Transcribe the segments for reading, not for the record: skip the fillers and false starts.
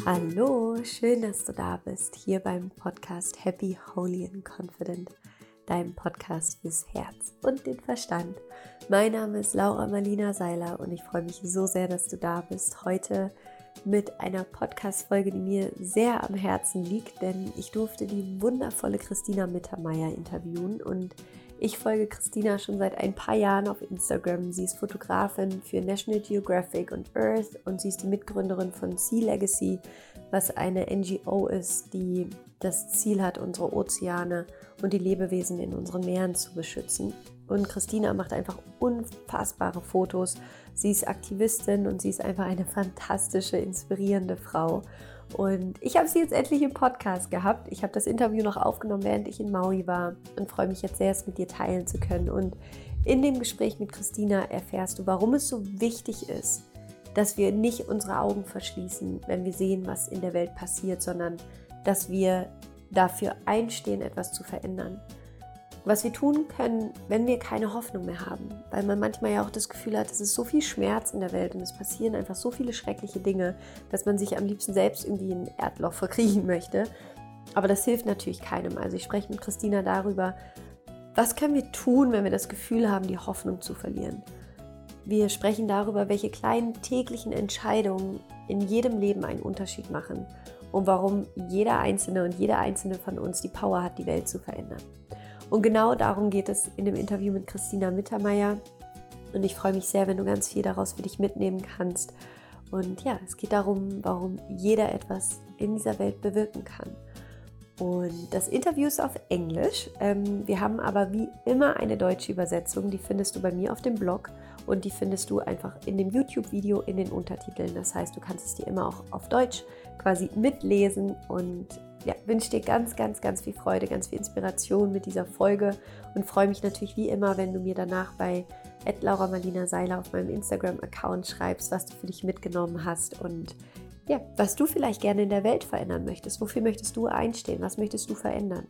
Hallo, schön, dass du da bist, hier beim Podcast Happy, Holy and Confident, deinem Podcast fürs Herz und den Verstand. Mein Name ist Laura Marlina Seiler und ich freue mich so sehr, dass du da bist, heute mit einer Podcast-Folge, die mir sehr am Herzen liegt, denn ich durfte die wundervolle Christina Mittermeier interviewen und ich folge Christina schon seit ein paar Jahren auf Instagram. Sie ist Fotografin für National Geographic und Earth und sie ist die Mitgründerin von Sea Legacy, was eine NGO ist, die das Ziel hat, unsere Ozeane und die Lebewesen in unseren Meeren zu beschützen. Und Christina macht einfach unfassbare Fotos. Sie ist Aktivistin und sie ist einfach eine fantastische, inspirierende Frau. Und ich habe sie jetzt endlich im Podcast gehabt. Ich habe das Interview noch aufgenommen, während ich in Maui war und freue mich jetzt sehr, es mit dir teilen zu können. Und in dem Gespräch mit Christina erfährst du, warum es so wichtig ist, dass wir nicht unsere Augen verschließen, wenn wir sehen, was in der Welt passiert, sondern dass wir dafür einstehen, etwas zu verändern. Was wir tun können, wenn wir keine Hoffnung mehr haben, weil man manchmal ja auch das Gefühl hat, es ist so viel Schmerz in der Welt und es passieren einfach so viele schreckliche Dinge, dass man sich am liebsten selbst irgendwie in ein Erdloch verkriechen möchte. Aber das hilft natürlich keinem. Also ich spreche mit Christina darüber, was können wir tun, wenn wir das Gefühl haben, die Hoffnung zu verlieren. Wir sprechen darüber, welche kleinen täglichen Entscheidungen in jedem Leben einen Unterschied machen und warum jeder Einzelne und jede Einzelne von uns die Power hat, die Welt zu verändern. Und genau darum geht es in dem Interview mit Christina Mittermeier. Und ich freue mich sehr, wenn du ganz viel daraus für dich mitnehmen kannst. Und ja, es geht darum, warum jeder etwas in dieser Welt bewirken kann. Und das Interview ist auf Englisch. Wir haben aber wie immer eine deutsche Übersetzung. Die findest du bei mir auf dem Blog und die findest du einfach in dem YouTube-Video in den Untertiteln. Das heißt, du kannst es dir immer auch auf Deutsch quasi mitlesen und ja, wünsche dir ganz, ganz, ganz viel Freude, ganz viel Inspiration mit dieser Folge und freue mich natürlich wie immer, wenn du mir danach bei @lauramarlinaseiler auf meinem Instagram-Account schreibst, was du für dich mitgenommen hast und ja, was du vielleicht gerne in der Welt verändern möchtest. Wofür möchtest du einstehen? Was möchtest du verändern?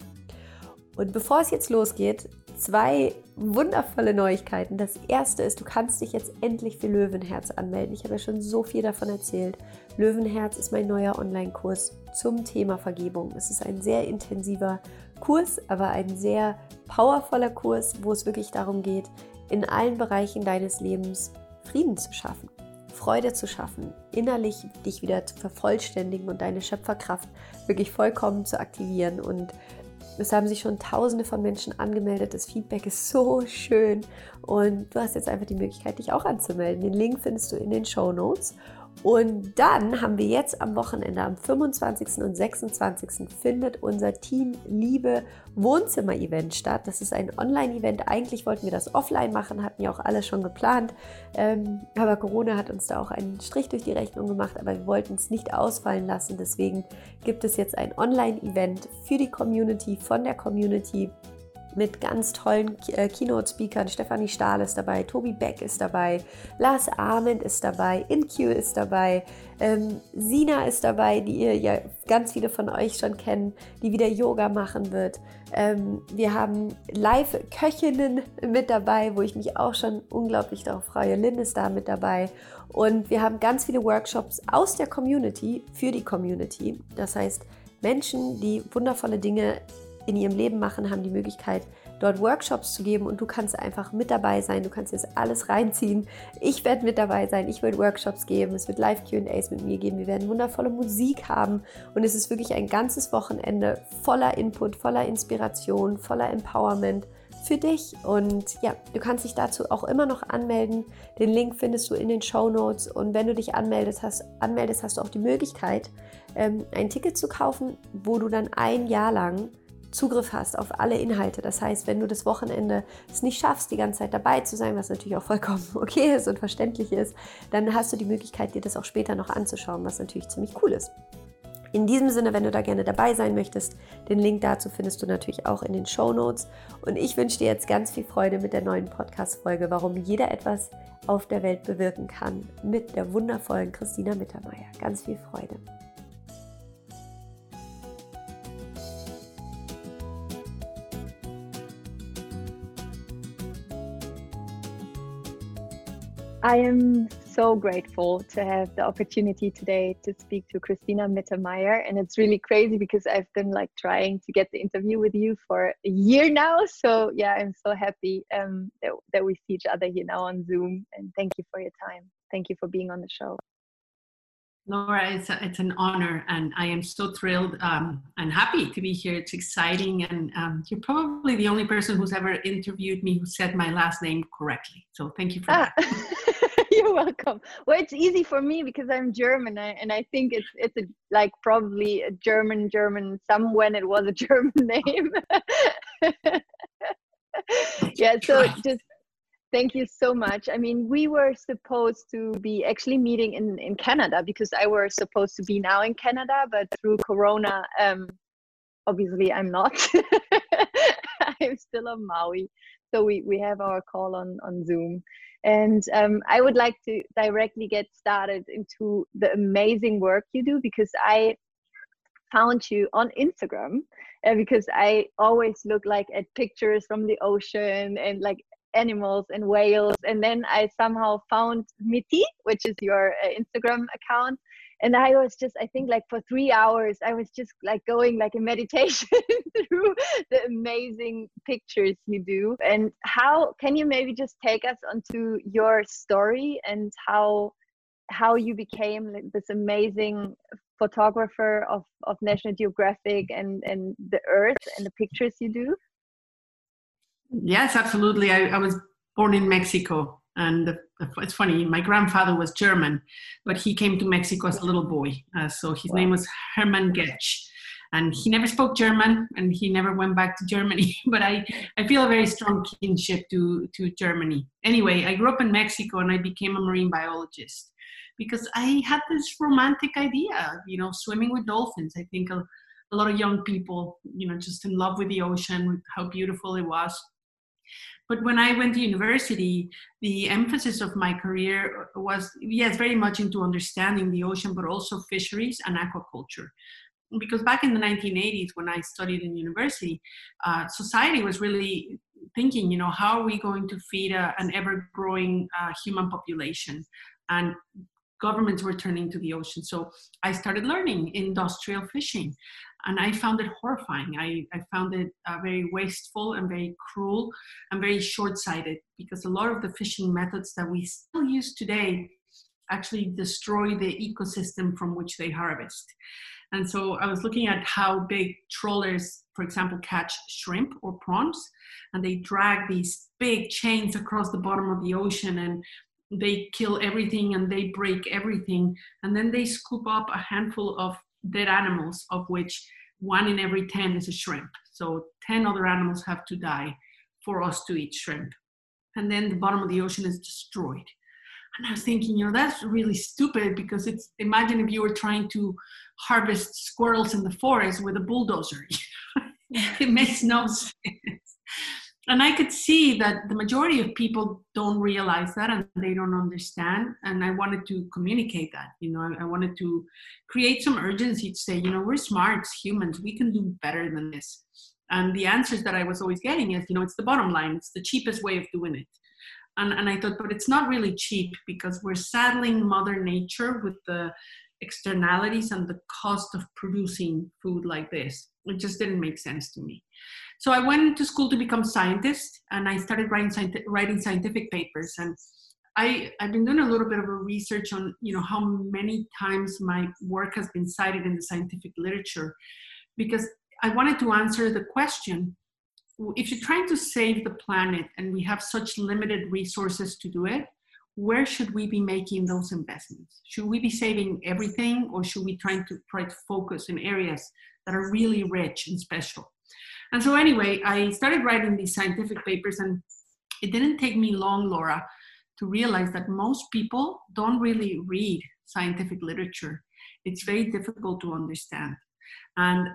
Und bevor es jetzt losgeht, 2 wundervolle Neuigkeiten. Das erste ist, du kannst dich jetzt endlich für Löwenherz anmelden. Ich habe ja schon so viel davon erzählt. Löwenherz ist mein neuer Online-Kurs zum Thema Vergebung. Es ist ein sehr intensiver Kurs, aber ein sehr powervoller Kurs, wo es wirklich darum geht, in allen Bereichen deines Lebens Frieden zu schaffen, Freude zu schaffen, innerlich dich wieder zu vervollständigen und deine Schöpferkraft wirklich vollkommen zu aktivieren. Und es haben sich schon Tausende von Menschen angemeldet. Das Feedback ist so schön und du hast jetzt einfach die Möglichkeit, dich auch anzumelden. Den Link findest du in den Shownotes. Und dann haben wir jetzt am Wochenende, am 25. und 26. findet unser Team Liebe Wohnzimmer-Event statt. Das ist ein Online-Event. Eigentlich wollten wir das offline machen, hatten ja auch alle schon geplant. Aber Corona hat uns da auch einen Strich durch die Rechnung gemacht, aber wir wollten es nicht ausfallen lassen. Deswegen gibt es jetzt ein Online-Event für die Community, von der Community, mit ganz tollen Keynote-Speakern. Stefanie Stahl ist dabei, Tobi Beck ist dabei, Lars Ahmed ist dabei, InQ ist dabei, Sina ist dabei, die ihr ja ganz viele von euch schon kennen, die wieder Yoga machen wird. Wir haben Live-Köchinnen mit dabei, wo ich mich auch schon unglaublich darauf freue. Lynn ist da mit dabei. Und wir haben ganz viele Workshops aus der Community für die Community. Das heißt, Menschen, die wundervolle Dinge in ihrem Leben machen, haben die Möglichkeit, dort Workshops zu geben und du kannst einfach mit dabei sein, du kannst jetzt alles reinziehen. Ich werde mit dabei sein, ich werde Workshops geben, es wird Live-Q&As mit mir geben, wir werden wundervolle Musik haben und es ist wirklich ein ganzes Wochenende voller Input, voller Inspiration, voller Empowerment für dich und ja, du kannst dich dazu auch immer noch anmelden. Den Link findest du in den Shownotes und wenn du dich anmeldest, hast du auch die Möglichkeit, ein Ticket zu kaufen, wo du dann ein Jahr lang Zugriff hast auf alle Inhalte. Das heißt, wenn du das Wochenende es nicht schaffst, die ganze Zeit dabei zu sein, was natürlich auch vollkommen okay ist und verständlich ist, dann hast du die Möglichkeit, dir das auch später noch anzuschauen, was natürlich ziemlich cool ist. In diesem Sinne, wenn du da gerne dabei sein möchtest, den Link dazu findest du natürlich auch in den Shownotes. Und ich wünsche dir jetzt ganz viel Freude mit der neuen Podcast-Folge, warum jeder etwas auf der Welt bewirken kann, mit der wundervollen Christina Mittermeier. Ganz viel Freude. I am so grateful to have the opportunity today to speak to Christina Mittermeier. And it's really crazy because I've been like trying to get the interview with you for a year now. So yeah, I'm so happy that we see each other here now on Zoom. And thank you for your time. Thank you for being on the show. Laura, it's an honor, and I am so thrilled and happy to be here. It's exciting, and you're probably the only person who's ever interviewed me who said my last name correctly. So thank you for that. You're welcome. Well, it's easy for me because I'm German, and I think it's like probably a German some when it was a German name. Yeah. So just. Thank you so much. I mean, we were supposed to be actually meeting in Canada because I was supposed to be now in Canada, but through Corona, obviously I'm not. I'm still on Maui. So we have our call on Zoom. And I would like to directly get started into the amazing work you do because I found you on Instagram because I always look like at pictures from the ocean and like animals and whales, and then I somehow found Miti, which is your Instagram account, and I was just, I think like for 3 hours I was just like going like a meditation through the amazing pictures you do. And how can you maybe just take us onto your story and how you became like this amazing photographer of National Geographic and the Earth and the pictures you do? Yes, absolutely. I was born in Mexico, and it's funny, my grandfather was German, but he came to Mexico as a little boy. So his name was Hermann Getsch, and he never spoke German, and he never went back to Germany. But I feel a very strong kinship to Germany. Anyway, I grew up in Mexico, and I became a marine biologist because I had this romantic idea, swimming with dolphins. I think a lot of young people, just in love with the ocean, with how beautiful it was. But when I went to university, the emphasis of my career was, yes, very much into understanding the ocean, but also fisheries and aquaculture. Because back in the 1980s, when I studied in university, society was really thinking, how are we going to feed an ever-growing human population? And governments were turning to the ocean. So I started learning industrial fishing. And I found it horrifying. I found it very wasteful and very cruel and very short-sighted because a lot of the fishing methods that we still use today actually destroy the ecosystem from which they harvest. And so I was looking at how big trawlers, for example, catch shrimp or prawns, and they drag these big chains across the bottom of the ocean, and they kill everything and they break everything. And then they scoop up a handful of dead animals, of which 1 in every 10 is a shrimp. So 10 other animals have to die for us to eat shrimp. And then the bottom of the ocean is destroyed. And I was thinking, that's really stupid because imagine if you were trying to harvest squirrels in the forest with a bulldozer. It makes no sense. And I could see that the majority of people don't realize that and they don't understand. And I wanted to communicate that, I wanted to create some urgency to say, we're smart humans. We can do better than this. And the answers that I was always getting is, it's the bottom line. It's the cheapest way of doing it. And I thought, but it's not really cheap because we're saddling Mother Nature with the externalities and the cost of producing food like this. It just didn't make sense to me. So I went to school to become a scientist, and I started writing scientific papers. And I've been doing a little bit of a research on, how many times my work has been cited in the scientific literature, because I wanted to answer the question, if you're trying to save the planet and we have such limited resources to do it, where should we be making those investments? Should we be saving everything, or should we try to focus in areas that are really rich and special? And so anyway, I started writing these scientific papers, and it didn't take me long, Laura, to realize that most people don't really read scientific literature. It's very difficult to understand. And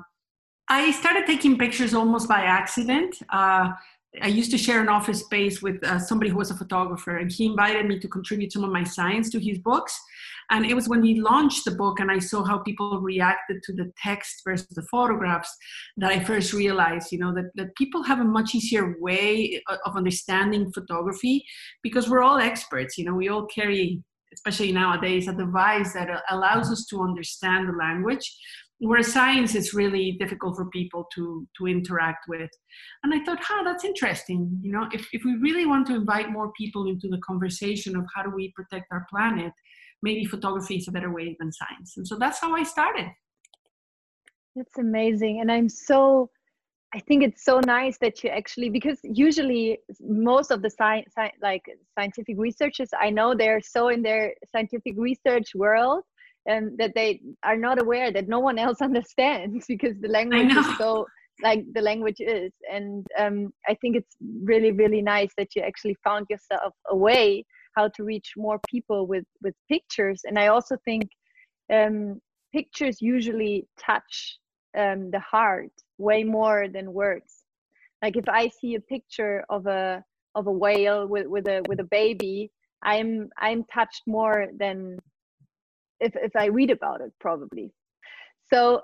I started taking pictures almost by accident. I used to share an office space with somebody who was a photographer, and he invited me to contribute some of my science to his books. And it was when we launched the book and I saw how people reacted to the text versus the photographs that I first realized, that people have a much easier way of understanding photography because we're all experts. We all carry especially nowadays, a device that allows us to understand the language, where science is really difficult for people to interact with. And I thought, that's interesting. You know, if we really want to invite more people into the conversation of how do we protect our planet, maybe photography is a better way than science. And so that's how I started. That's amazing. And I think it's so nice that you actually, because usually most of the scientific researchers, I know they're so in their scientific research world, and that they are not aware that no one else understands, because the language is so like the language is. And I think it's really, really nice that you actually found yourself a way how to reach more people with pictures. And I also think pictures usually touch the heart way more than words. Like if I see a picture of a whale with a baby, I'm touched more than if I read about it, probably. So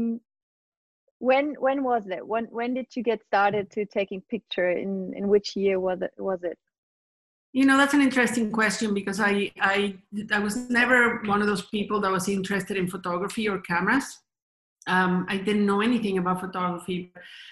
when was it? When did you get started to taking picture? In which year was it? You know, that's an interesting question, because I was never one of those people that was interested in photography or cameras. I didn't know anything about photography.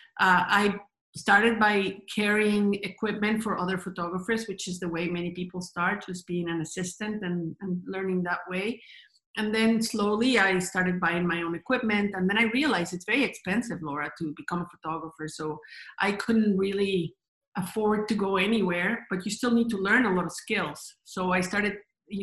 I started by carrying equipment for other photographers, which is the way many people start, just being an assistant and learning that way. And then slowly I started buying my own equipment. And then I realized it's very expensive, Laura, to become a photographer. So I couldn't really afford to go anywhere, but you still need to learn a lot of skills. So I started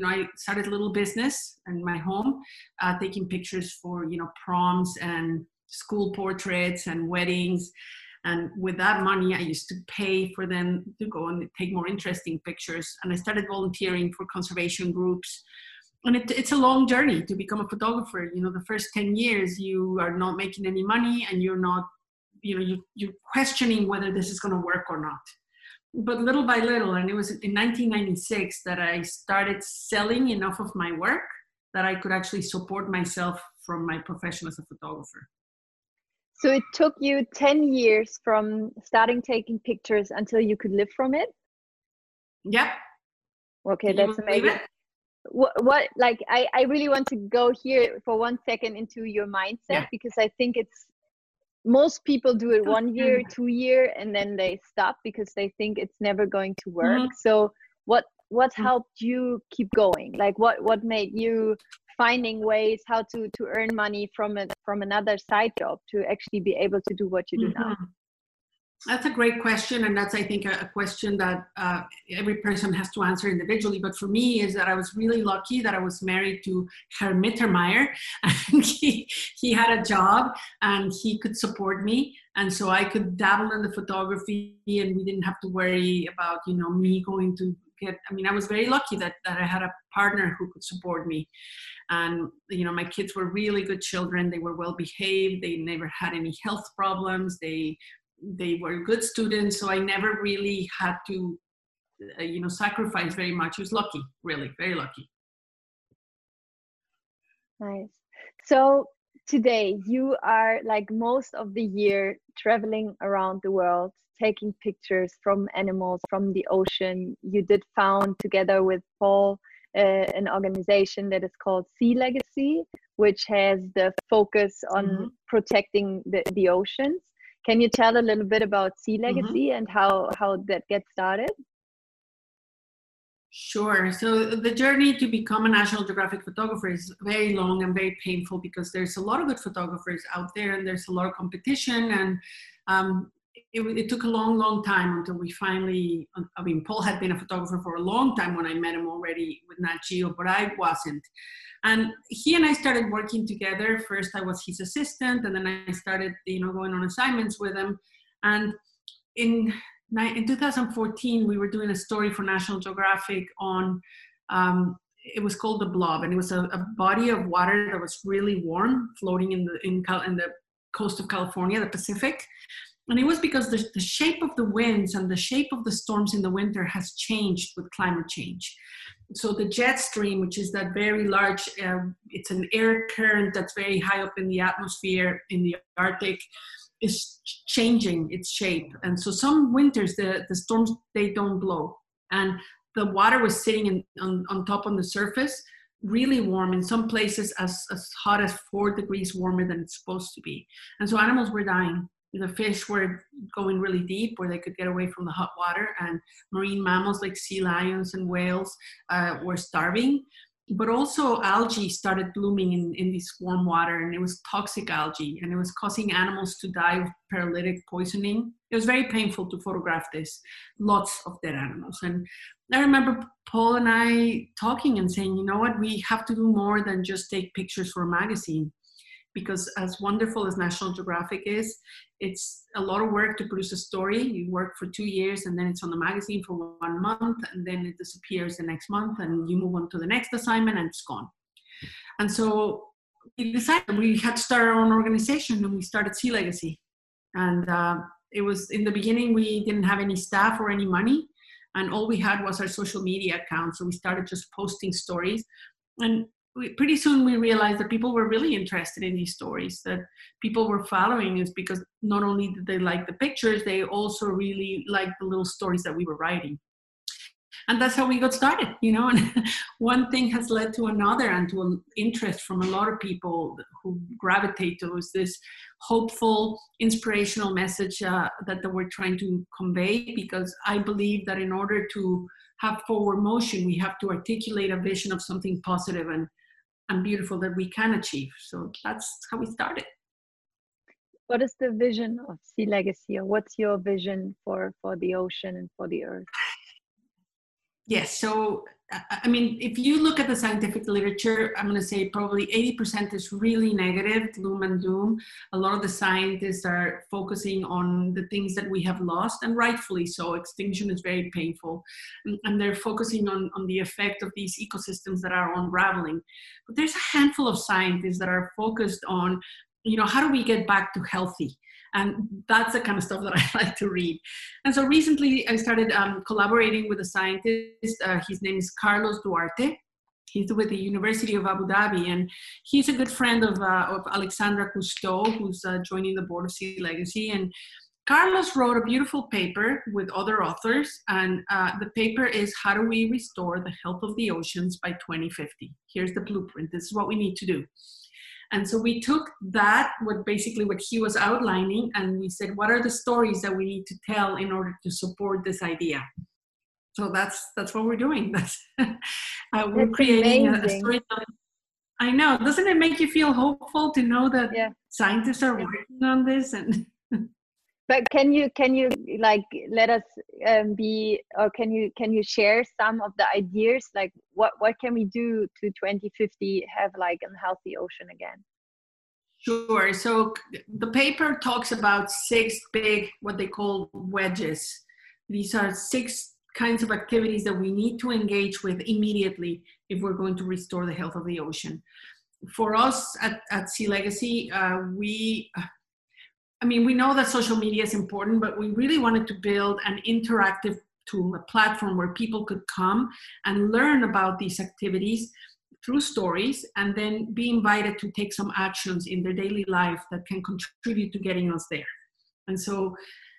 a little business in my home, taking pictures for, proms and school portraits and weddings. And with that money, I used to pay for them to go and take more interesting pictures. And I started volunteering for conservation groups. And it's a long journey to become a photographer. You know, the first 10 years, you are not making any money, and you're not, you're questioning whether this is going to work or not. But little by little, and it was in 1996 that I started selling enough of my work that I could actually support myself from my profession as a photographer. So it took you 10 years from starting taking pictures until you could live from it? Yep. Okay, that's amazing. What like I really want to go here for 1 second into your mindset, because I think it's most people do it 1 year, 2 years, and then they stop because they think it's never going to work. So what helped you keep going? Like what made you finding ways how to earn money from another side job to actually be able to do what you do now? That's a great question. And that's, I think, a question that every person has to answer individually. But for me, is that I was really lucky that I was married to Herr Mittermeier. And he had a job and he could support me. And so I could dabble in the photography, and we didn't have to worry about, me going to I was very lucky that I had a partner who could support me. And, my kids were really good children. They were well behaved. They never had any health problems. They were good students, so I never really had to, sacrifice very much. I was lucky, really, very lucky. Nice. So today you are, like most of the year, traveling around the world, taking pictures from animals, from the ocean. You did found, together with Paul, an organization that is called Sea Legacy, which has the focus on protecting the oceans. Can you tell a little bit about Sea Legacy and how that gets started? Sure. So the journey to become a National Geographic photographer is very long and very painful, because there's a lot of good photographers out there and there's a lot of competition. And it took a long, long time until we finally, Paul had been a photographer for a long time when I met him already with Nat Geo, but I wasn't. And he and I started working together. First, I was his assistant, and then I started, going on assignments with him. And in 2014, we were doing a story for National Geographic on, it was called The Blob, and it was a body of water that was really warm, floating in the coast of California, the Pacific. And it was because the shape of the winds and the shape of the storms in the winter has changed with climate change. So the jet stream, which is that very large, it's an air current that's very high up in the atmosphere in the Arctic, is changing its shape. And so some winters, the storms, they don't blow. And the water was sitting on top on the surface, really warm, in some places as hot as 4 degrees warmer than it's supposed to be. And so animals were dying. The fish were going really deep where they could get away from the hot water, and marine mammals like sea lions and whales were starving. But also algae started blooming in this warm water, and it was toxic algae, and it was causing animals to die of paralytic poisoning. It was very painful to photograph this, lots of dead animals. And I remember Paul and I talking and saying, you know what, we have to do more than just take pictures for a magazine. Because as wonderful as National Geographic is, it's a lot of work to produce a story. You work for 2 years, and then it's on the magazine for 1 month, and then it disappears the next month, and you move on to the next assignment, and it's gone. And so we decided we had to start our own organization, and we started Sea Legacy. And it was, in the beginning, we didn't have any staff or any money, and all we had was our social media account. So we started just posting stories, and pretty soon we realized that people were really interested in these stories, that people were following us because not only did they like the pictures, they also really liked the little stories that we were writing. And that's how we got started, you know, and one thing has led to another, and to an interest from a lot of people who gravitate towards this hopeful, inspirational message that we're trying to convey, because I believe that in order to have forward motion, we have to articulate a vision of something positive and beautiful that we can achieve. So that's how we started. What is the vision of Sea Legacy, or what's your vision for the ocean and for the earth? Yes, so I mean, if you look at the scientific literature, I'm going to say probably 80% is really negative, gloom and doom. A lot of the scientists are focusing on the things that we have lost, and rightfully so. Extinction is very painful, and they're focusing on the effect of these ecosystems that are unraveling. But there's a handful of scientists that are focused on, you know, how do we get back to healthy? And that's the kind of stuff that I like to read. And so recently I started collaborating with a scientist. His name is Carlos Duarte. He's with the University of Abu Dhabi, and he's a good friend of Alexandra Cousteau, who's joining the board of Sea Legacy. And Carlos wrote a beautiful paper with other authors, and the paper is How Do We Restore the Health of the Oceans by 2050? Here's the blueprint. This is what we need to do. And so we took that, what he was outlining, and we said, what are the stories that we need to tell in order to support this idea? So that's what we're doing. We're creating a storytelling. I know. Doesn't it make you feel hopeful to know that scientists are working on this? And but can you like let us be, or can you share some of the ideas, like what can we do to 2050 have like a healthy ocean again? Sure. So the paper talks about 6 big, what they call wedges. These are 6 kinds of activities that we need to engage with immediately if we're going to restore the health of the ocean. For us at Sea Legacy, we know that social media is important, but we really wanted to build an interactive tool, a platform where people could come and learn about these activities through stories, and then be invited to take some actions in their daily life that can contribute to getting us there. And so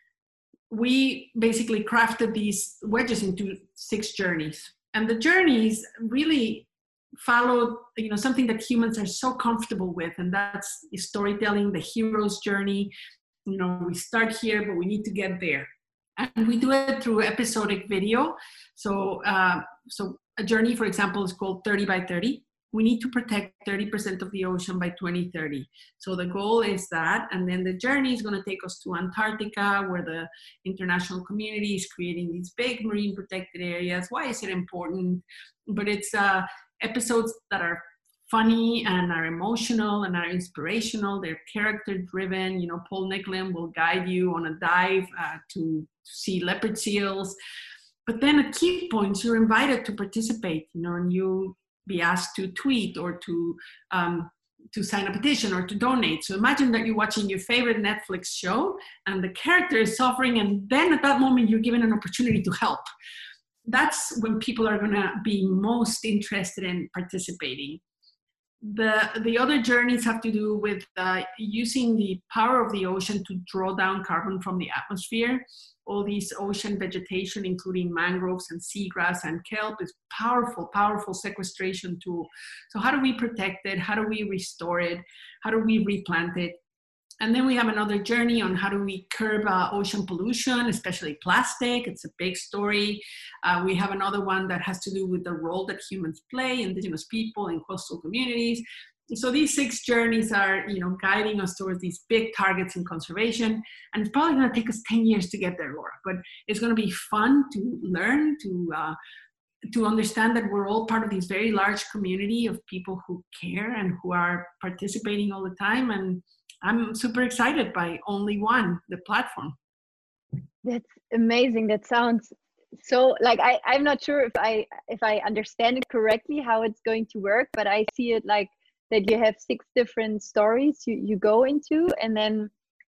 we basically crafted these wedges into 6 journeys. And the journeys really followed, something that humans are so comfortable with, and that's storytelling, the hero's journey. We start here, but we need to get there. And we do it through episodic video. So a journey, for example, is called 30 by 30. We need to protect 30% of the ocean by 2030. So the goal is that, and then the journey is going to take us to Antarctica, where the international community is creating these big marine protected areas. Why is it important? But it's episodes that are funny and are emotional and are inspirational. They're character driven. Paul Nicklin will guide you on a dive to see leopard seals. But then at key points, you're invited to participate, and you be asked to tweet or to sign a petition or to donate. So imagine that you're watching your favorite Netflix show and the character is suffering, and then at that moment you're given an opportunity to help. That's when people are going to be most interested in participating. The other journeys have to do with using the power of the ocean to draw down carbon from the atmosphere. All these ocean vegetation, including mangroves and seagrass and kelp, is powerful, powerful sequestration tool. So how do we protect it? How do we restore it? How do we replant it? And then we have another journey on how do we curb ocean pollution, especially plastic. It's a big story. We have another one that has to do with the role that humans play, indigenous people in coastal communities. So these 6 journeys are, guiding us towards these big targets in conservation. And it's probably going to take us 10 years to get there, Laura. But it's going to be fun to learn, to understand that we're all part of this very large community of people who care and who are participating all the time. And I'm super excited by Only One, the platform. That's amazing. That sounds so like I'm not sure if I understand it correctly how it's going to work, but I see it like that you have 6 different stories you go into, and then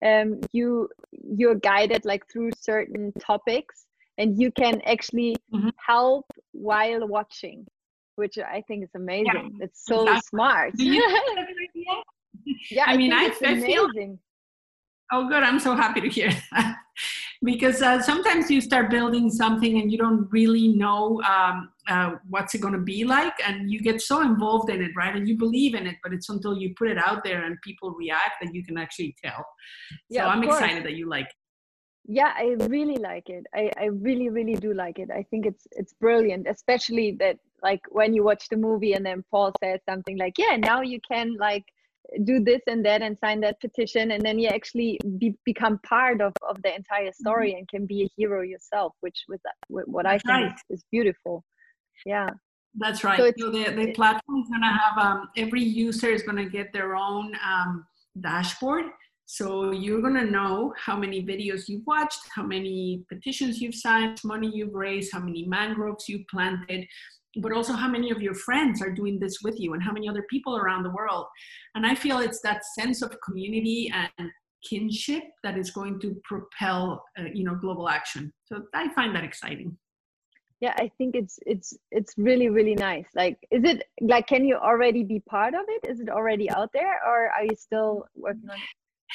you're guided like through certain topics, and you can actually help while watching, which I think is amazing. Yeah, it's so smart. Do you have an idea? Yeah, I mean, I feel amazing. Oh, good. I'm so happy to hear that. Because sometimes you start building something and you don't really know what's it going to be like, and you get so involved in it, right? And you believe in it, but it's until you put it out there and people react that you can actually tell. So I'm excited that you like it. Yeah, I really like it. I really, really do like it. I think it's brilliant, especially that like when you watch the movie and then Paul says something like, yeah, now you can like do this and that and sign that petition, and then you actually become part of the entire story and can be a hero yourself, which with what I think is beautiful. Yeah, that's right. So the platform is going to have every user is going to get their own dashboard. So you're going to know how many videos you've watched, how many petitions you've signed, money you've raised, how many mangroves you planted, but also how many of your friends are doing this with you and how many other people around the world. And I feel it's that sense of community and kinship that is going to propel, global action. So I find that exciting. Yeah, I think it's really, really nice. Like, is it like, can you already be part of it? Is it already out there, or are you still working on it?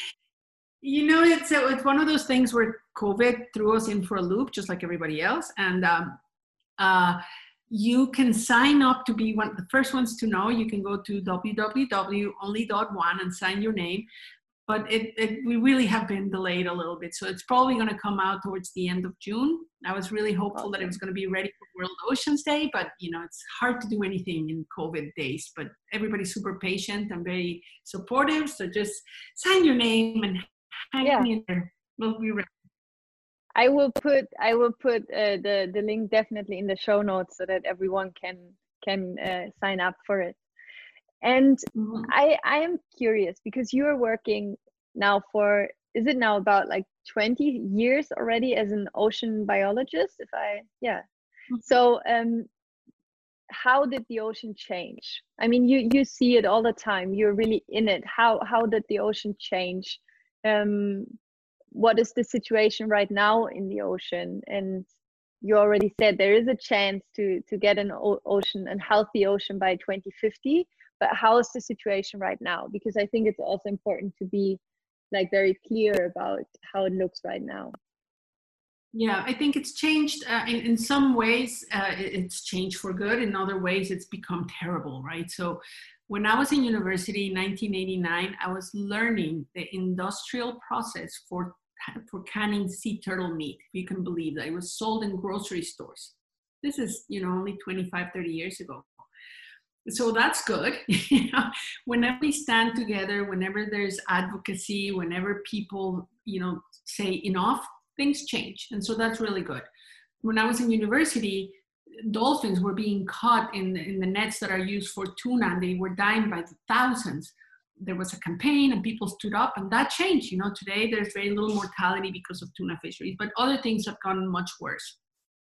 It's one of those things where COVID threw us in for a loop, just like everybody else. And you can sign up to be one of the first ones to know. You can go to www.only.one and sign your name. But we really have been delayed a little bit. So it's probably going to come out towards the end of June. I was really hopeful that it was going to be ready for World Oceans Day, but it's hard to do anything in COVID days. But everybody's super patient and very supportive. So just sign your name and hang in there. We'll be ready. I will put the link definitely in the show notes so that everyone can sign up for it. And I am curious because you are working now is it now about like 20 years already as an ocean biologist? So how did the ocean change? I mean, you see it all the time. You're really in it. How did the ocean change? What is the situation right now in the ocean? And you already said there is a chance to get an healthy ocean by 2050. But how is the situation right now? Because I think it's also important to be like very clear about how it looks right now. Yeah, I think it's changed. In some ways, it's changed for good. In other ways, it's become terrible, right? So when I was in university in 1989, I was learning the industrial process for canning sea turtle meat. If you can believe that. It was sold in grocery stores. This is, only 25, 30 years ago. So that's good. Whenever we stand together, whenever there's advocacy, whenever people, say enough, things change. And so that's really good. When I was in university, dolphins were being caught in the nets that are used for tuna, and they were dying by the thousands. There was a campaign and people stood up, and that changed. Today there's very little mortality because of tuna fisheries, but other things have gone much worse.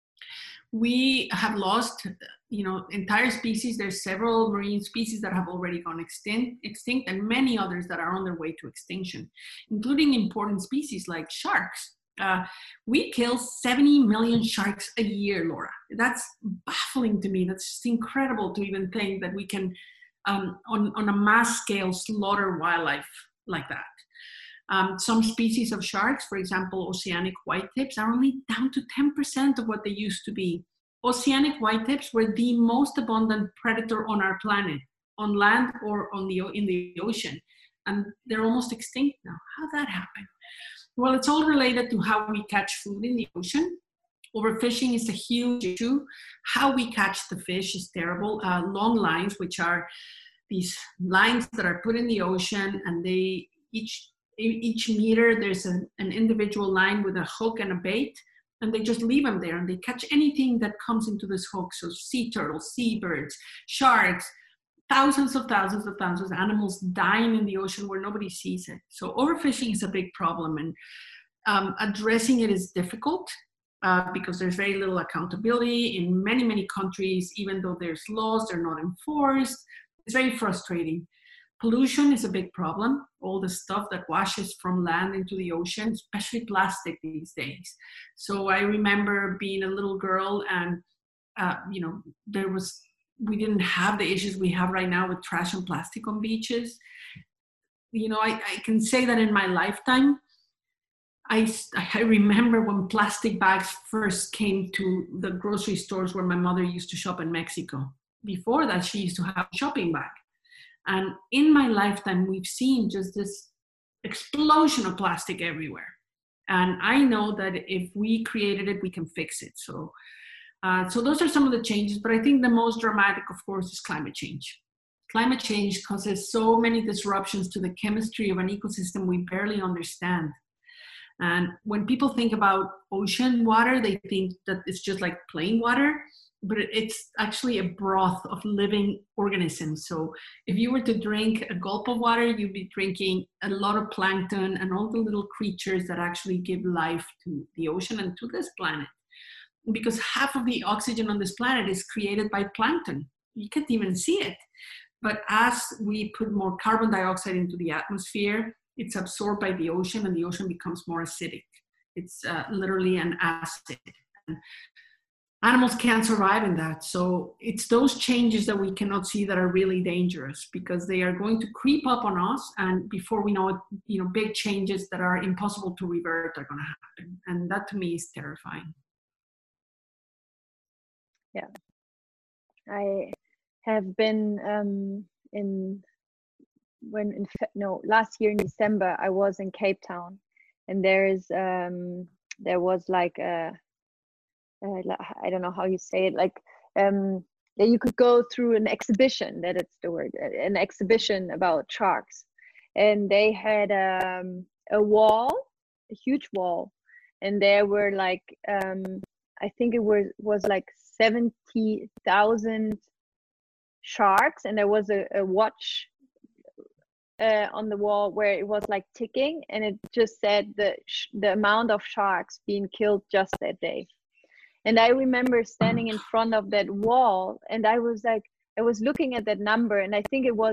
We have lost, entire species. There's several marine species that have already gone extinct, and many others that are on their way to extinction, including important species like sharks. We kill 70 million sharks a year, Laura. That's baffling to me. That's just incredible to even think that we can on a mass scale slaughter wildlife like that. Some species of sharks, for example, oceanic whitetips, are only down to 10% of what they used to be. Oceanic whitetips were the most abundant predator on our planet, on land or in the ocean. And they're almost extinct now. How did that happen? Well, it's all related to how we catch food in the ocean. Overfishing is a huge issue. How we catch the fish is terrible. Long lines, which are these lines that are put in the ocean, and they each meter there's an individual line with a hook and a bait, and they just leave them there, and they catch anything that comes into this hook. So sea turtles, seabirds, sharks, thousands of animals dying in the ocean where nobody sees it. So overfishing is a big problem, and addressing it is difficult. Because there's very little accountability in many countries. Even though there's laws, they're not enforced. It's very frustrating. Pollution is a big problem. All the stuff that washes from land into the ocean, especially plastic these days. So I remember being a little girl, and we didn't have the issues we have right now with trash and plastic on beaches. I can say that in my lifetime, I remember when plastic bags first came to the grocery stores where my mother used to shop in Mexico. Before that, she used to have a shopping bag. And in my lifetime, we've seen just this explosion of plastic everywhere. And I know that if we created it, we can fix it. So those are some of the changes. But I think the most dramatic, of course, is climate change. Climate change causes so many disruptions to the chemistry of an ecosystem we barely understand. And when people think about ocean water, they think that it's just like plain water, but it's actually a broth of living organisms. So if you were to drink a gulp of water, you'd be drinking a lot of plankton and all the little creatures that actually give life to the ocean and to this planet. Because half of the oxygen on this planet is created by plankton. You can't even see it. But as we put more carbon dioxide into the atmosphere, it's absorbed by the ocean, and the ocean becomes more acidic. It's literally an acid. And animals can't survive in that. So it's those changes that we cannot see that are really dangerous, because they are going to creep up on us, and before we know it, big changes that are impossible to revert are going to happen. And that to me is terrifying. Yeah, I have been last year in December, I was in Cape Town, and there was like I don't know how you say it, like you could go through an exhibition, that it's the word, an exhibition about sharks, and they had a huge wall, and there were like I think it was like 70,000 sharks, and there was a watch on the wall where it was like ticking, and it just said the amount of sharks being killed just that day. And I remember standing in front of that wall, and I was looking at that number, and I think it was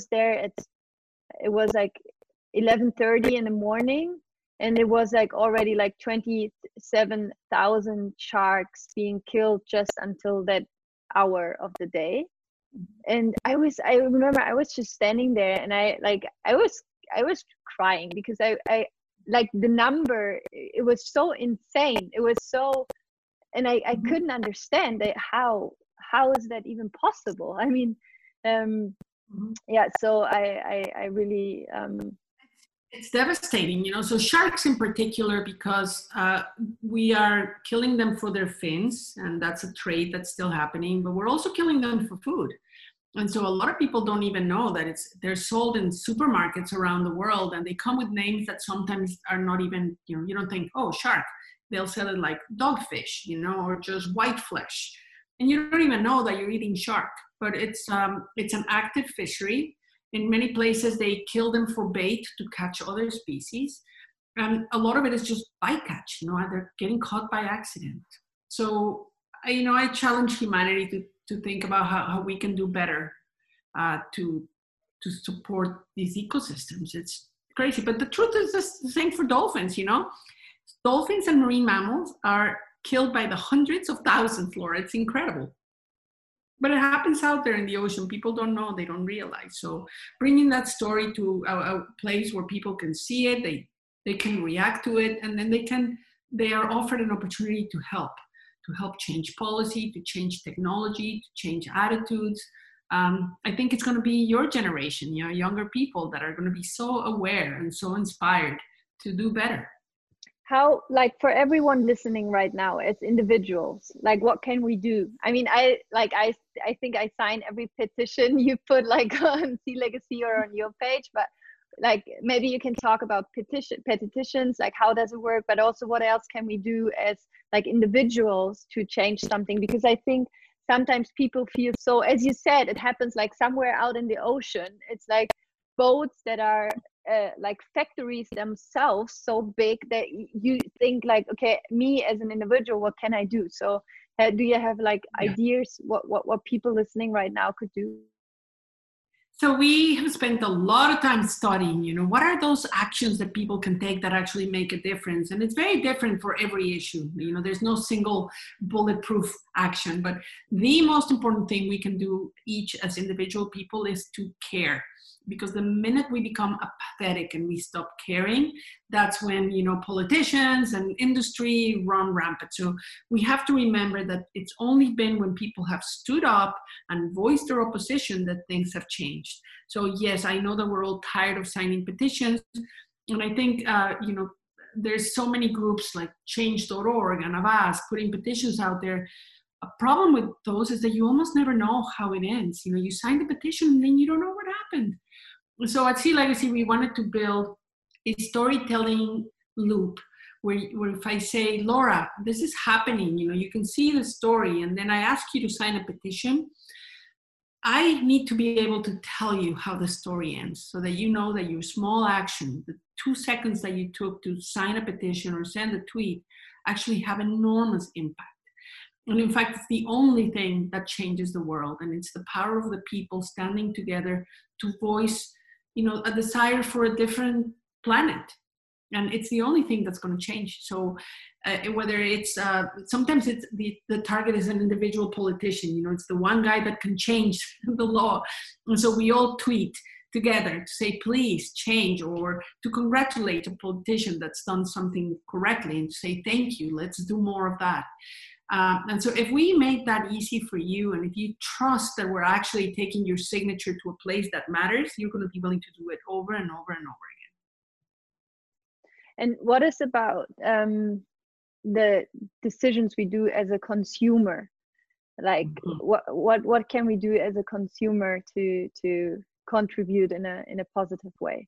like 11:30 in the morning, and it was like already like 27,000 sharks being killed just until that hour of the day. And I remember I was just standing there, and I was crying, because I like the number, it was so insane. It was so, and I couldn't understand that how is that even possible? I mean, yeah, so I really it's devastating, so sharks in particular, because we are killing them for their fins, and that's a trade that's still happening, but we're also killing them for food. And so a lot of people don't even know that they're sold in supermarkets around the world, and they come with names that sometimes are not even, you don't think, oh, shark. They'll sell it like dogfish, or just white flesh. And you don't even know that you're eating shark, but it's an active fishery. In many places, they kill them for bait to catch other species. And a lot of it is just bycatch, they're getting caught by accident. So, I challenge humanity to think about how we can do better to support these ecosystems. It's crazy, but the truth is the same for dolphins, Dolphins and marine mammals are killed by the hundreds of thousands, Laura. It's incredible. But it happens out there in the ocean. People don't know, they don't realize. So bringing that story to a place where people can see it, they can react to it, and then they are offered an opportunity to help change policy, to change technology, to change attitudes. I think it's going to be your generation, younger people that are going to be so aware and so inspired to do better. How, like, for everyone listening right now as individuals, like, what can we do? I mean, I think I sign every petition you put, like, on Sea Legacy or on your page, but like, maybe you can talk about petitions, like, how does it work, but also what else can we do as like individuals to change something? Because I think sometimes people feel, so as you said, it happens like somewhere out in the ocean. It's like boats that are like factories themselves, so big that you think like, okay, me as an individual, what can I do? So do you have like ideas what people listening right now could do? So we have spent a lot of time studying, what are those actions that people can take that actually make a difference? And it's very different for every issue. There's no single bulletproof action, but the most important thing we can do each as individual people is to care. Because the minute we become apathetic and we stop caring, that's when, politicians and industry run rampant. So we have to remember that it's only been when people have stood up and voiced their opposition that things have changed. So yes, I know that we're all tired of signing petitions. And I think, there's so many groups like change.org and Avast putting petitions out there. A problem with those is that you almost never know how it ends. You sign the petition and then you don't know what happened. So at Sea Legacy, we wanted to build a storytelling loop where if I say, Laura, this is happening, you can see the story, and then I ask you to sign a petition, I need to be able to tell you how the story ends so that you know that your small action, the 2 seconds that you took to sign a petition or send a tweet, actually have enormous impact. And in fact, it's the only thing that changes the world. And it's the power of the people standing together to voice, a desire for a different planet. And it's the only thing that's going to change. So whether it's, sometimes it's the target is an individual politician, it's the one guy that can change the law. And so we all tweet together to say, please change, or to congratulate a politician that's done something correctly and to say, thank you, let's do more of that. And so if we make that easy for you, and if you trust that we're actually taking your signature to a place that matters, you're going to be willing to do it over and over and over again. And what is about the decisions we do as a consumer? Like, what can we do as a consumer to contribute in a positive way?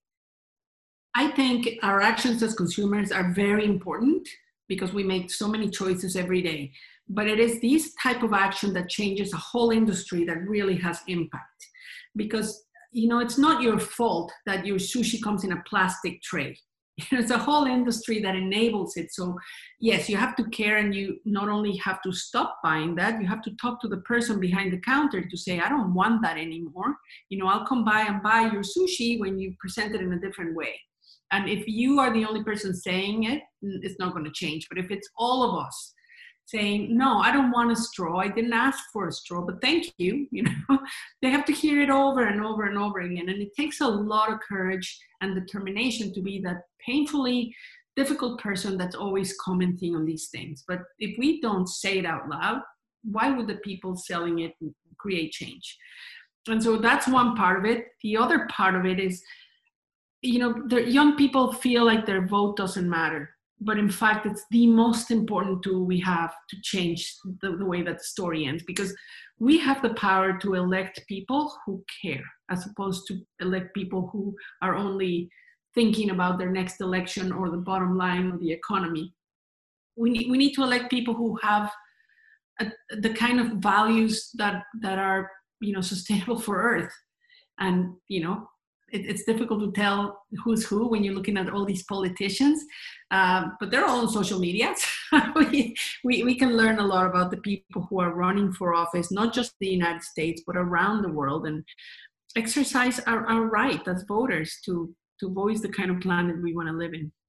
I think our actions as consumers are very important, because we make so many choices every day. But it is this type of action that changes a whole industry that really has impact. Because, it's not your fault that your sushi comes in a plastic tray. It's a whole industry that enables it. So yes, you have to care, and you not only have to stop buying that, you have to talk to the person behind the counter to say, I don't want that anymore. I'll come by and buy your sushi when you present it in a different way. And if you are the only person saying it, it's not going to change. But if it's all of us saying, no, I don't want a straw, I didn't ask for a straw, but thank you, they have to hear it over and over and over again. And it takes a lot of courage and determination to be that painfully difficult person that's always commenting on these things. But if we don't say it out loud, why would the people selling it create change? And so that's one part of it. The other part of it is, the young people feel like their vote doesn't matter. But in fact, it's the most important tool we have to change the way that the story ends, because we have the power to elect people who care, as opposed to elect people who are only thinking about their next election or the bottom line or the economy. We need to elect people who have the kind of values that are, sustainable for Earth. And, it's difficult to tell who's who when you're looking at all these politicians, but they're all on social media. we can learn a lot about the people who are running for office, not just the United States, but around the world, and exercise our right as voters to voice the kind of planet we want to live in.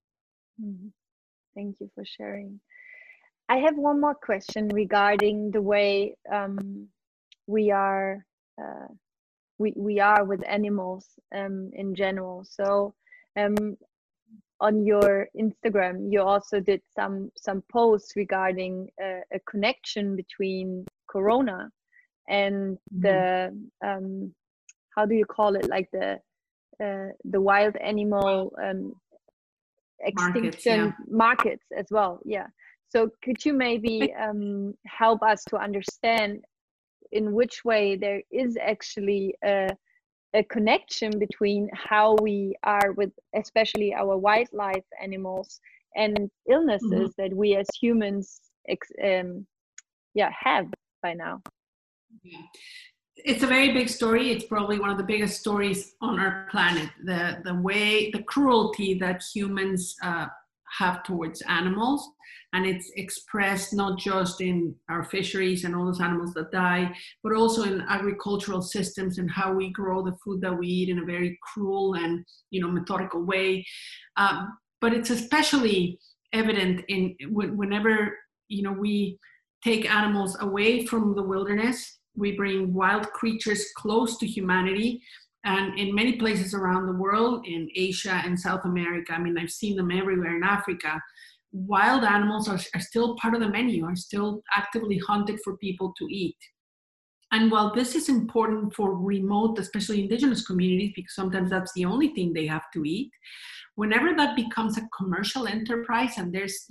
Thank you for sharing. I have one more question regarding the way we are we are with animals in general. So on your Instagram, you also did some posts regarding a connection between Corona and the how do you call it, like the wild animal extinction markets as well. Yeah. So could you maybe help us to understand in which way there is actually a connection between how we are with especially our wildlife animals and illnesses that we as humans have by now? It's a very big story. It's probably one of the biggest stories on our planet. The cruelty that humans have towards animals, and it's expressed not just in our fisheries and all those animals that die, but also in agricultural systems and how we grow the food that we eat in a very cruel and methodical way. But it's especially evident in whenever we take animals away from the wilderness. We bring wild creatures close to humanity. And in many places around the world, in Asia and South America, I mean, I've seen them everywhere in Africa, wild animals are still part of the menu, are still actively hunted for people to eat. And while this is important for remote, especially indigenous communities, because sometimes that's the only thing they have to eat, whenever that becomes a commercial enterprise and there's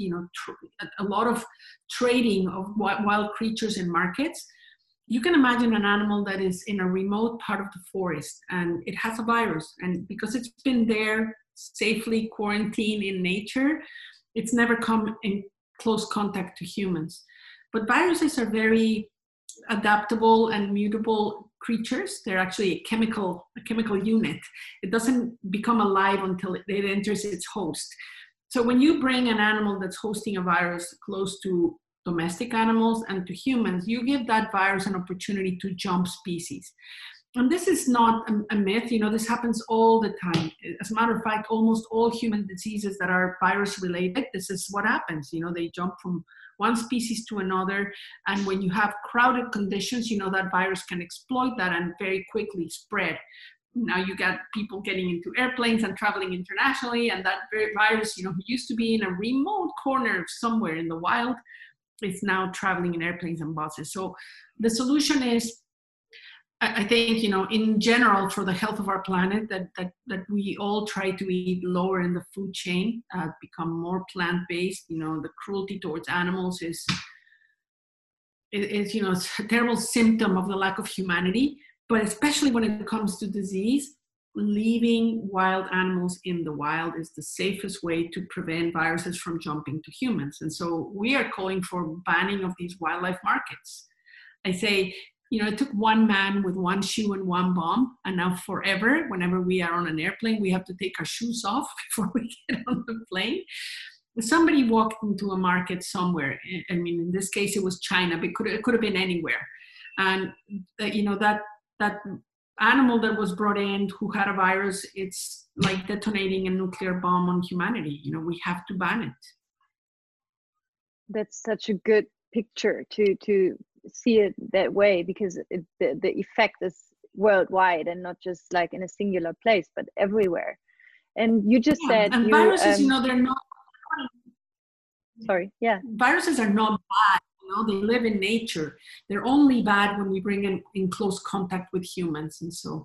a lot of trading of wild creatures in markets, you can imagine an animal that is in a remote part of the forest and it has a virus. And because it's been there safely quarantined in nature, it's never come in close contact to humans. But viruses are very adaptable and mutable creatures. They're actually a chemical unit. It doesn't become alive until it enters its host. So when you bring an animal that's hosting a virus close to domestic animals and to humans, you give that virus an opportunity to jump species. And this is not a myth. This happens all the time. As a matter of fact, almost all human diseases that are virus related, this is what happens. They jump from one species to another. And when you have crowded conditions, that virus can exploit that and very quickly spread. Now you got people getting into airplanes and traveling internationally, and that virus, who used to be in a remote corner somewhere in the wild, is now traveling in airplanes and buses. So the solution is, I think, in general, for the health of our planet, that we all try to eat lower in the food chain, become more plant-based. The cruelty towards animals is it's a terrible symptom of the lack of humanity. But especially when it comes to disease, leaving wild animals in the wild is the safest way to prevent viruses from jumping to humans. And so we are calling for banning of these wildlife markets. I say, it took one man with one shoe and one bomb, and now forever, whenever we are on an airplane, we have to take our shoes off before we get on the plane. Somebody walked into a market somewhere. I mean, in this case, it was China, but it could have been anywhere. And that animal that was brought in who had a virus, it's like detonating a nuclear bomb on humanity. We have to ban it. That's such a good picture to see it that way, because the effect is worldwide and not just like in a singular place, but everywhere. And you just said, and viruses, they're not. Sorry, yeah. Viruses are not bad. They live in nature. They're only bad when we bring them in close contact with humans. And so.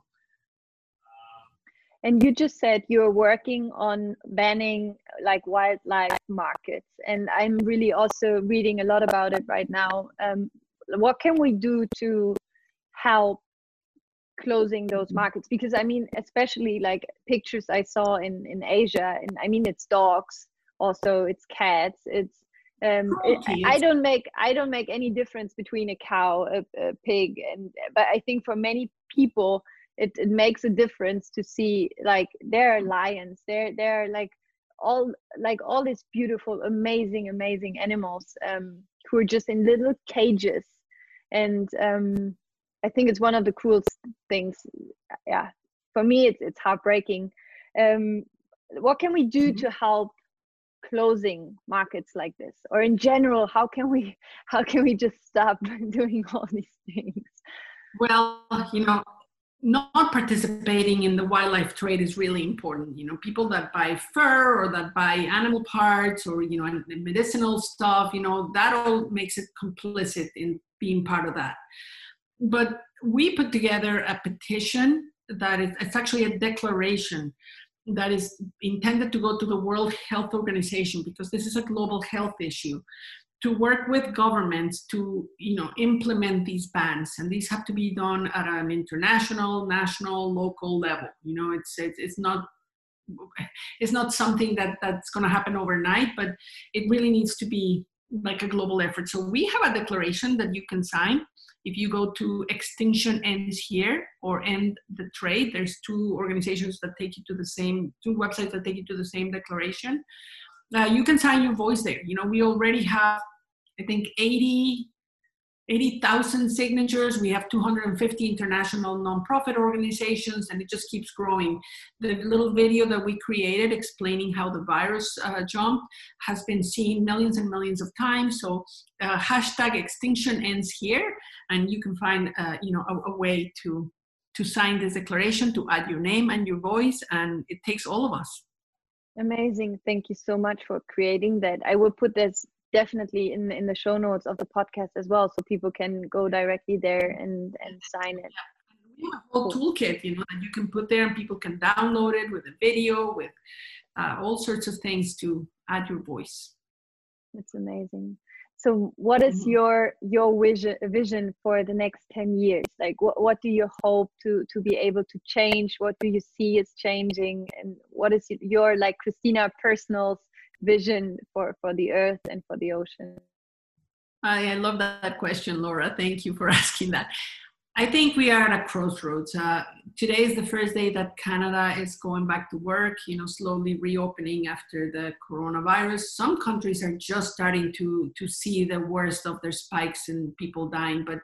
And you just said you're working on banning like wildlife markets. And I'm really also reading a lot about it right now. What can we do to help closing those markets? Because I mean, especially like pictures I saw in Asia, and I mean, it's dogs, also it's cats, it's I don't make any difference between a cow, a pig, but I think for many people it makes a difference to see like there are lions, there are like all these beautiful, amazing animals who are just in little cages, and I think it's one of the cruelest things. Yeah, for me it's heartbreaking. What can we do to help closing markets like this, or in general, how can we just stop doing all these things? Well, not participating in the wildlife trade is really important. People that buy fur or that buy animal parts or, medicinal stuff, that all makes it complicit in being part of that. But we put together a petition it's actually a declaration that is intended to go to the World Health Organization, because this is a global health issue, to work with governments to implement these bans, and these have to be done at an international, national, local level. It's not something that's going to happen overnight, but it really needs to be like a global effort. So we have a declaration that you can sign. If you go to Extinction Ends Here or End the Trade, there's two organizations that take you to two websites that take you to the same declaration. You can sign your voice there. We already have, I think, 80,000 signatures. We have 250 international nonprofit organizations, and it just keeps growing. The little video that we created explaining how the virus jumped has been seen millions and millions of times. So hashtag Extinction Ends Here, and you can find a way to sign this declaration, to add your name and your voice, and it takes all of us. Amazing. Thank you so much for creating that. I will put this definitely in the show notes of the podcast as well, so people can go directly there and sign it. We have a whole toolkit, that you can put there, and people can download it with a video, with all sorts of things to add your voice. That's amazing. So what is your vision for the next 10 years? Like what do you hope to be able to change? What do you see is changing? And what is your, like, Christina, personal vision for the earth and for the ocean? I love that question, Laura. Thank you for asking that. I think we are at a crossroads. Today is the first day that Canada is going back to work, slowly reopening after the coronavirus. Some countries are just starting to see the worst of their spikes and people dying, but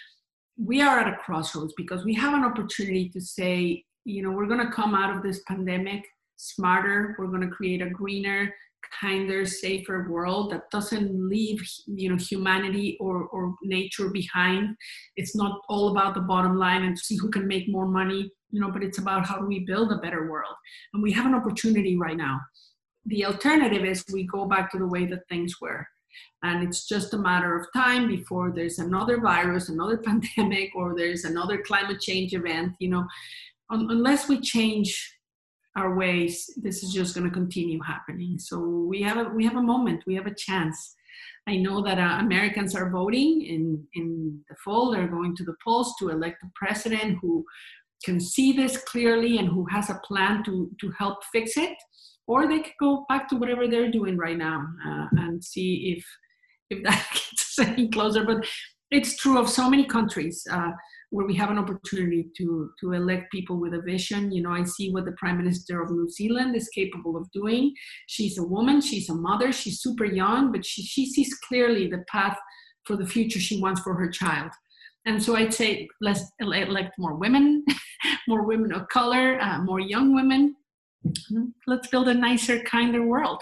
we are at a crossroads because we have an opportunity to say, we're going to come out of this pandemic smarter. We're going to create a greener, kinder, safer world that doesn't leave humanity or nature behind. It's not all about the bottom line and to see who can make more money, but it's about how do we build a better world. And we have an opportunity right now. The alternative is we go back to the way that things were, and it's just a matter of time before there's another virus, another pandemic, or there's another climate change event. Unless we change our ways, this is just going to continue happening. So we have a moment, we have a chance. I know that Americans are voting in the fall. They're going to the polls to elect a president who can see this clearly and who has a plan to help fix it, or they could go back to whatever they're doing right now and see if that gets us any closer. But it's true of so many countries where we have an opportunity to elect people with a vision. I see what the Prime Minister of New Zealand is capable of doing. She's a woman, she's a mother, she's super young, but she sees clearly the path for the future she wants for her child. And so I'd say let's elect more women, more women of color, more young women. Let's build a nicer, kinder world.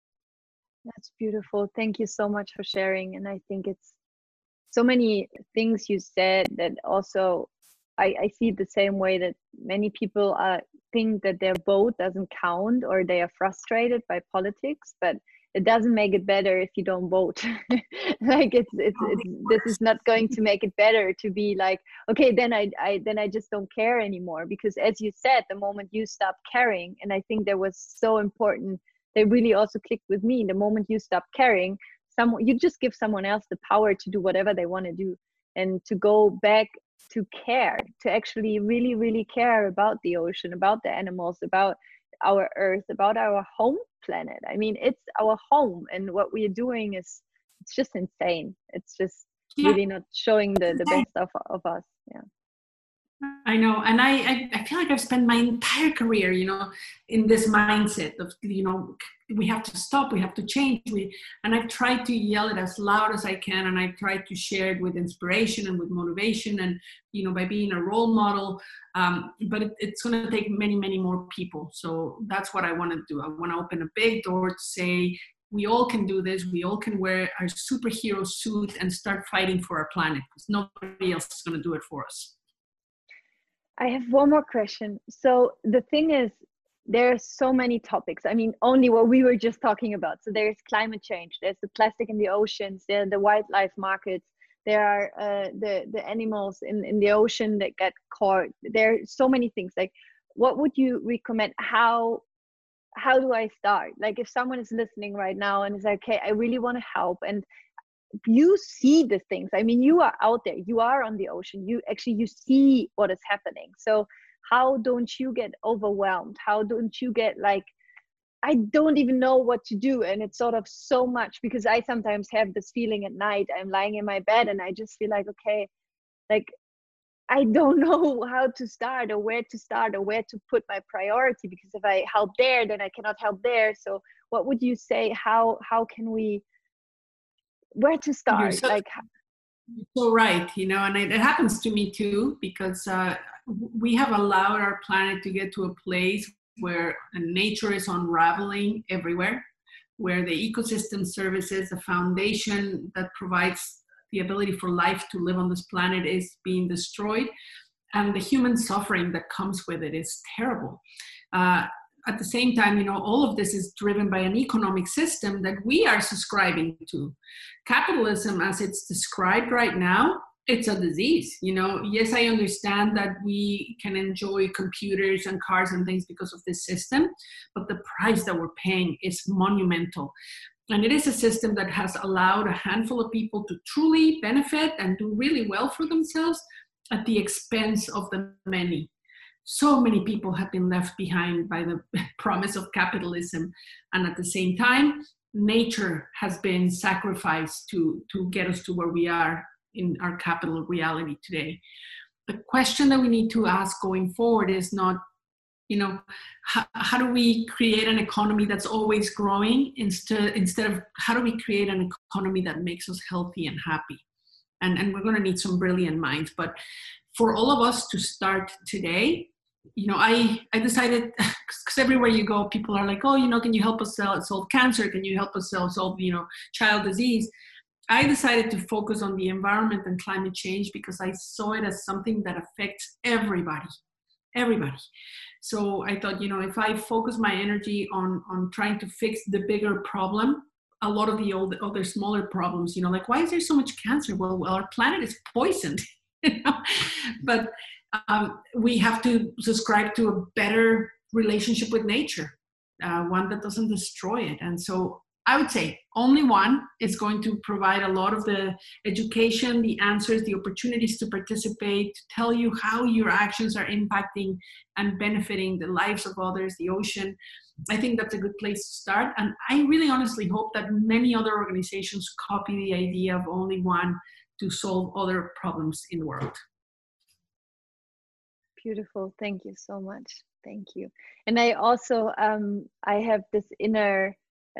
That's beautiful. Thank you so much for sharing. And I think it's so many things you said that also I see the same way that many people think that their vote doesn't count, or they are frustrated by politics, but it doesn't make it better if you don't vote. Like it's this is not going to make it better to be like, okay, then I just don't care anymore. Because as you said, the moment you stop caring, and I think that was so important, they really also clicked with me. The moment you stop caring, you just give someone else the power to do whatever they want to do, and to go back to care, to actually really, really care about the ocean, about the animals, about our earth, about our home planet. I mean, it's our home, and what we are doing it's just insane. It's just really not showing the best of us. Yeah. I know. And I feel like I've spent my entire career, in this mindset of, we have to stop, we have to change. And I've tried to yell it as loud as I can. And I've tried to share it with inspiration and with motivation and, by being a role model. But it's going to take many, many more people. So that's what I want to do. I want to open a big door to say, we all can do this. We all can wear our superhero suit and start fighting for our planet, because nobody else is going to do it for us. I have one more question. So the thing is, there are so many topics. I mean, only what we were just talking about. So there's climate change, there's the plastic in the oceans, there are the wildlife markets, there are the animals in the ocean that get caught. There are so many things. Like, what would you recommend? How do I start? Like, if someone is listening right now and is like, okay, I really want to help, and you see the things. I mean, you are out there, you are on the ocean, you see what is happening. So how don't you get overwhelmed? How don't you get like, I don't even know what to do? And it's sort of so much, because I sometimes have this feeling at night, I'm lying in my bed and I just feel like, okay, like, I don't know how to start, or where to put my priority, because if I help there, then I cannot help there. So what would you say? How can we, where to start? You're so right, and it happens to me too, because we have allowed our planet to get to a place where nature is unraveling everywhere, where the ecosystem services, the foundation that provides the ability for life to live on this planet, is being destroyed, and the human suffering that comes with it is terrible. At the same time, all of this is driven by an economic system that we are subscribing to. Capitalism, as it's described right now, it's a disease. Yes, I understand that we can enjoy computers and cars and things because of this system, but the price that we're paying is monumental. And it is a system that has allowed a handful of people to truly benefit and do really well for themselves at the expense of the many. So many people have been left behind by the promise of capitalism. And at the same time, nature has been sacrificed to get us to where we are in our capital reality today. The question that we need to ask going forward is not, how do we create an economy that's always growing, instead of how do we create an economy that makes us healthy and happy? And we're going to need some brilliant minds. But for all of us to start today, I decided, because everywhere you go, people are like, oh, can you help us solve cancer? Can you help us solve, child disease? I decided to focus on the environment and climate change because I saw it as something that affects everybody. So I thought, if I focus my energy on trying to fix the bigger problem, a lot of the other smaller problems, like, why is there so much cancer? Well, our planet is poisoned, but we have to subscribe to a better relationship with nature, one that doesn't destroy it. And so I would say only one is going to provide a lot of the education, the answers, the opportunities to participate, to tell you how your actions are impacting and benefiting the lives of others, the ocean. I think that's a good place to start. And I really honestly hope that many other organizations copy the idea of only one to solve other problems in the world. Beautiful. Thank you so much. Thank you. And I also, I have this inner,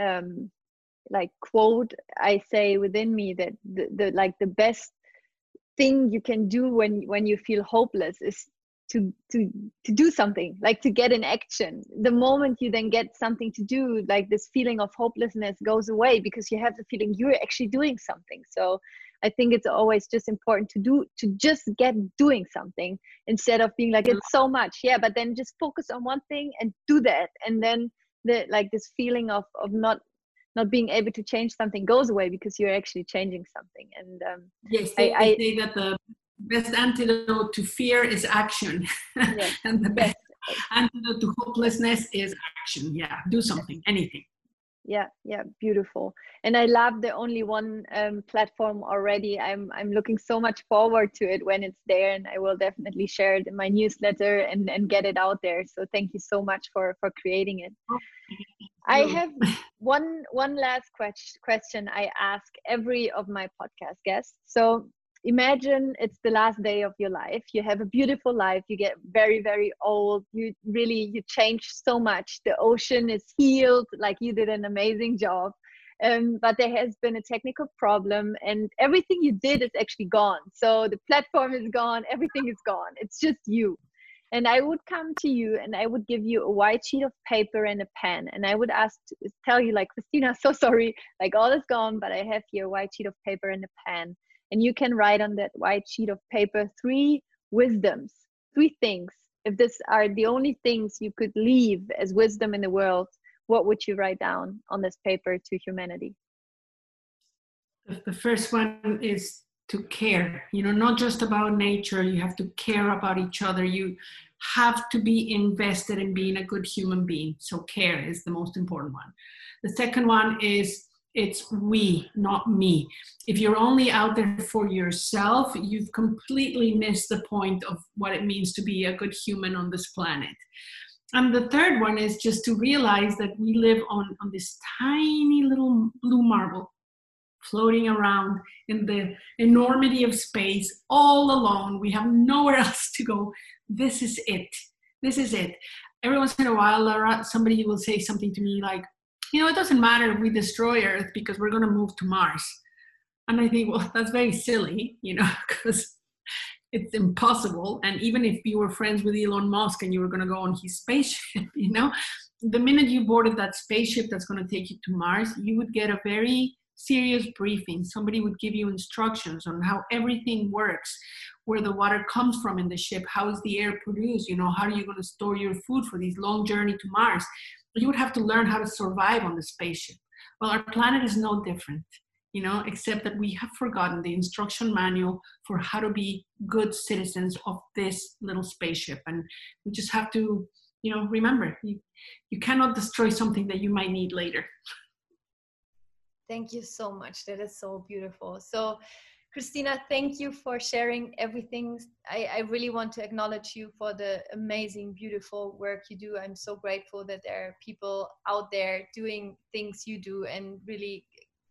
quote I say within me, that the best thing you can do when you feel hopeless is to do something, like to get in action. The moment you then get something to do, like this feeling of hopelessness goes away, because you have the feeling you're actually doing something. So I think it's always just important to just get doing something, instead of being like, it's so much, but then just focus on one thing and do that, and then this feeling of not being able to change something goes away, because you're actually changing something. And yes, I say that the best antidote to fear is action. Yes. And the best antidote to hopelessness is action. Do something, anything. Yeah, beautiful. And I love the Only One platform already. I'm looking so much forward to it when it's there, and I will definitely share it in my newsletter and get it out there. So thank you so much for creating it. I have one last question I ask every of my podcast guests. So imagine it's the last day of your life. You have a beautiful life. You get very, very old. You change so much. The ocean is healed. Like, you did an amazing job. But there has been a technical problem, and everything you did is actually gone. So the platform is gone. Everything is gone. It's just you. And I would come to you and I would give you a white sheet of paper and a pen. And I would tell you, like, Christina, so sorry, like, all is gone, but I have here a white sheet of paper and a pen. And you can write on that white sheet of paper 3 wisdoms 3 things, if these are the only things you could leave as wisdom in the world, what would you write down on this paper to humanity? The first one is to care, not just about nature. You have to care about each other. You have to be invested in being a good human being. So care is the most important one. The second one is it's we, not me. If you're only out there for yourself, you've completely missed the point of what it means to be a good human on this planet. And the third one is just to realize that we live on this tiny little blue marble, floating around in the enormity of space, all alone. We have nowhere else to go. This is it. This is it. Every once in a while, Laura, somebody will say something to me like, it doesn't matter if we destroy Earth because we're going to move to Mars. And I think, well, that's very silly, because it's impossible. And even if you were friends with Elon Musk and you were going to go on his spaceship, the minute you boarded that spaceship that's going to take you to Mars, you would get a very serious briefing. Somebody would give you instructions on how everything works, where the water comes from in the ship, how is the air produced, how are you going to store your food for this long journey to Mars. You would have to learn how to survive on the spaceship. Well, our planet is no different, except that we have forgotten the instruction manual for how to be good citizens of this little spaceship. And we just have to, remember, you cannot destroy something that you might need later. Thank you so much. That is so beautiful. So, Christina, thank you for sharing everything. I really want to acknowledge you for the amazing, beautiful work you do. I'm so grateful that there are people out there doing things you do and really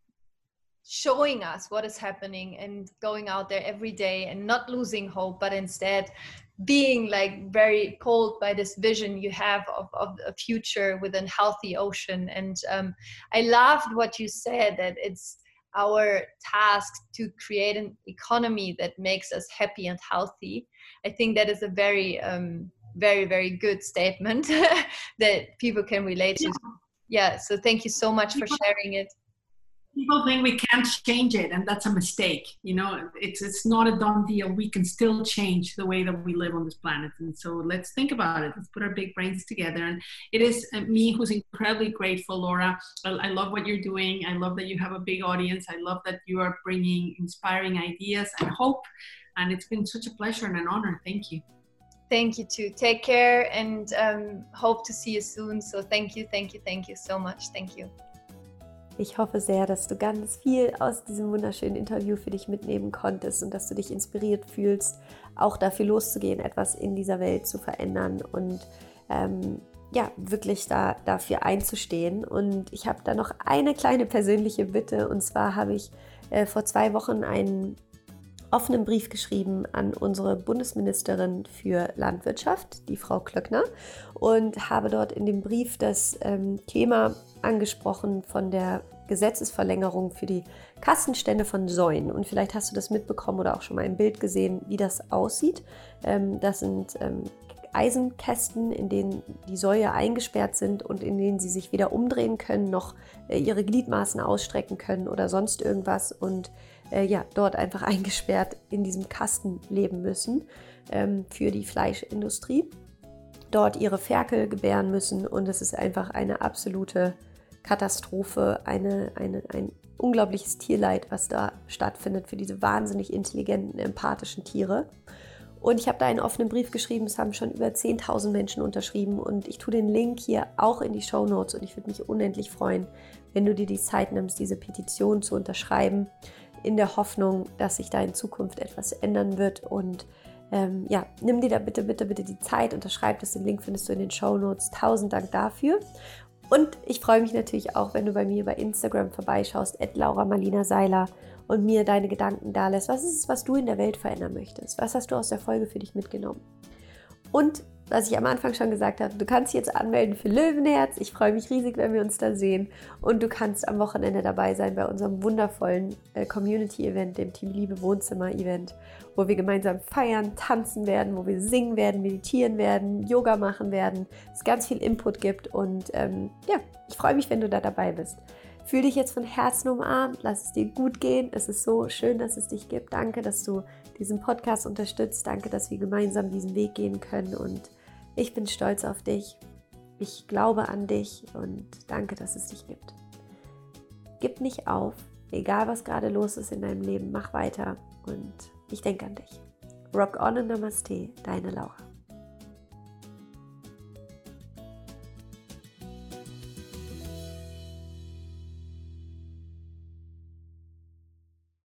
showing us what is happening and going out there every day and not losing hope, but instead being like very called by this vision you have of a future with a healthy ocean. And I loved what you said, that it's our task to create an economy that makes us happy and healthy. I think that is a very, very, very good statement that people can relate to. Yeah, so thank you so much for sharing it. People think we can't change it, and that's a mistake. It's not a done deal. We can still change the way that we live on this planet. And so let's think about it. Let's put our big brains together. And it is me who's incredibly grateful, Laura. I love what you're doing. I love that you have a big audience. I love that you are bringing inspiring ideas and hope. And it's been such a pleasure and an honor. Thank you. Thank you too. Take care, and hope to see you soon. So thank you so much. Thank you. Ich hoffe sehr, dass du ganz viel aus diesem wunderschönen Interview für dich mitnehmen konntest und dass du dich inspiriert fühlst, auch dafür loszugehen, etwas in dieser Welt zu verändern und wirklich dafür einzustehen. Und ich habe da noch eine kleine persönliche Bitte, und zwar habe ich vor 2 Wochen einen offenen Brief geschrieben an unsere Bundesministerin für Landwirtschaft, die Frau Klöckner, und habe dort in dem Brief das Thema angesprochen von der Gesetzesverlängerung für die Kastenstände von Säuen. Und vielleicht hast du das mitbekommen oder auch schon mal ein Bild gesehen, wie das aussieht. Das sind Eisenkästen, in denen die Säue eingesperrt sind und in denen sie sich weder umdrehen können, noch ihre Gliedmaßen ausstrecken können oder sonst irgendwas, und dort einfach eingesperrt in diesem Kasten leben müssen für die Fleischindustrie, dort ihre Ferkel gebären müssen, und es ist einfach eine absolute Katastrophe, ein unglaubliches Tierleid, was da stattfindet für diese wahnsinnig intelligenten, empathischen Tiere. Und ich habe da einen offenen Brief geschrieben, es haben schon über 10.000 Menschen unterschrieben, und ich tue den Link hier auch in die Shownotes, und ich würde mich unendlich freuen, wenn du dir die Zeit nimmst, diese Petition zu unterschreiben, in der Hoffnung, dass sich da in Zukunft etwas ändern wird. Und nimm dir da bitte die Zeit, unterschreib das, den Link findest du in den Shownotes. 1000 Dank dafür. Und ich freue mich natürlich auch, wenn du bei mir bei Instagram vorbeischaust, @LauraMarlinaSeiler, und mir deine Gedanken da lässt. Was ist es, was du in der Welt verändern möchtest? Was hast du aus der Folge für dich mitgenommen? Und was ich am Anfang schon gesagt habe, du kannst dich jetzt anmelden für Löwenherz. Ich freue mich riesig, wenn wir uns da sehen. Und du kannst am Wochenende dabei sein bei unserem wundervollen Community-Event, dem Team Liebe Wohnzimmer-Event, wo wir gemeinsam feiern, tanzen werden, wo wir singen werden, meditieren werden, Yoga machen werden, es ganz viel Input gibt. Und ich freue mich, wenn du da dabei bist. Fühl dich jetzt von Herzen umarmt, lass es dir gut gehen. Es ist so schön, dass es dich gibt. Danke, dass du diesen Podcast unterstützt. Danke, dass wir gemeinsam diesen Weg gehen können und ich bin stolz auf dich. Ich glaube an dich und danke, dass es dich gibt. Gib nicht auf, egal was gerade los ist in deinem Leben, mach weiter und ich denke an dich. Rock on und Namaste, deine Laura.